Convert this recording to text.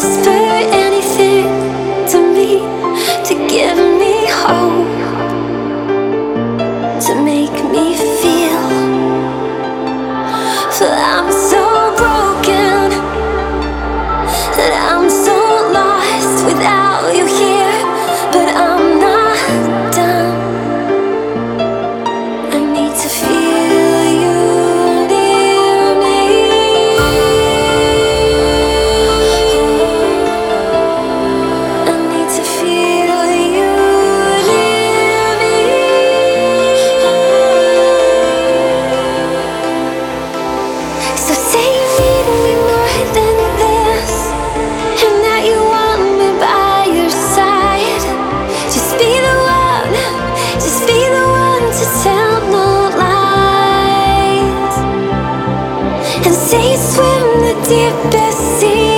whisper anything to me, to give me hope, to make me feel. For I'm so broken, and I'm so lost without you here. But I'm not done. I need to feel you near me. I need to feel you near me. So say you need me more than this, and that you want me by your side. Just be the one, just be the one to tell no lies. And say you swim the deepest sea,